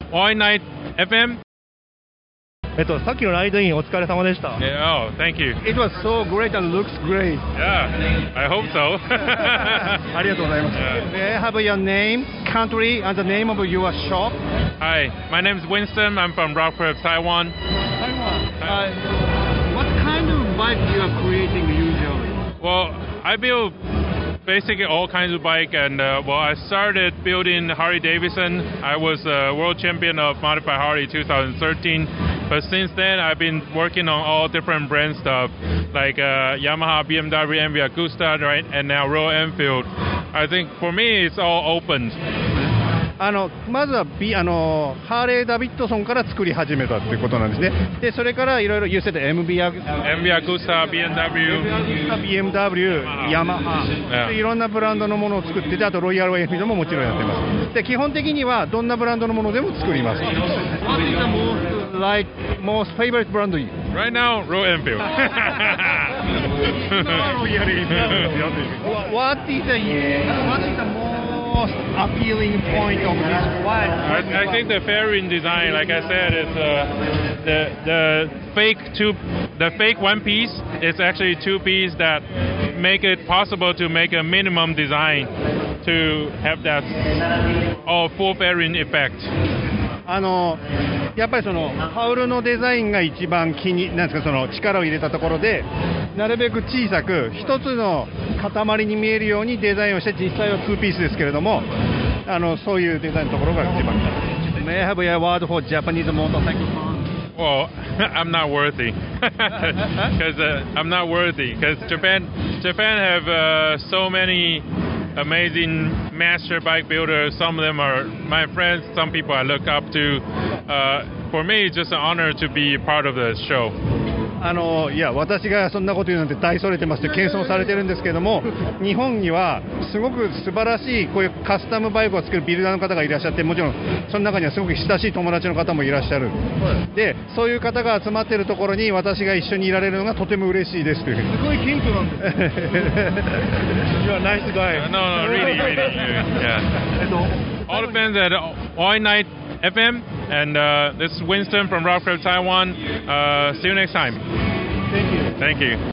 All Night FM? さっきのライドインお疲れ様でした。 Yeah, oh, thank you. It was so great and looks great. Yeah, I hope so. ありがとうございます。May I have your name, country, and the name of your shop? Hi, my name is Winston. I'm from Rockford, Taiwan. What kind of bike you are creating usually? Well, I build basically all kinds of bike, and I started building Harley Davidson. I was world champion of modified Harley 2013. But since then, I've been working on all different brand stuff, like Yamaha, BMW, MV Agusta, right, and now Royal Enfield. I think for me, it's all open. まずはハーレー・ダビッドソンから作り始めたっていうことなんですね。でそれからいろいろ言ってた MV Agusta, BMW、ヤマハ、いろんなブランドのものを作ってて、あとロイヤルエンフィールドももちろんやってます。で基本的にはどんなブランドのものでも作ります。 What is the most favorite brand you? Right now, Royal Enfield. What is the most appealing point of this bike? I think the fairing design, like I said, is the fake one piece is actually two piece that make it possible to make a minimum design to have that full fairing effect. やっぱりそのハウルのデザインが一番なんですか、その力を入れたところでなるべく小さく一つの塊に見えるようにデザインをして、実際は2ピースですけれども、そういうデザインのところが一番。 May I have a word for Japanese motorcycle fans? Well, I'm not worthy because I'm not worthy because Japan have so many amazing master bike builders. Some of them are my friends. Some people I look up to. For me, it's just an honor to be part of the show. いや私がそんなこと言うなんて大それてますって謙遜されてるんですけども、日本にはすごく素晴らしいこういうカスタムバイクを作るビルダーの方がいらっしゃって、もちろんその中にはすごく親しい友達の方もいらっしゃる。でそういう方が集まっているところに私が一緒にいられるのがとても嬉しいですというふうに。 すごい謙虚なんです。 You are a nice guy. No, really, yeah. All the fans at All Night FM, and this is Winston from Rockford, Taiwan. See you next time. Thank you. Thank you.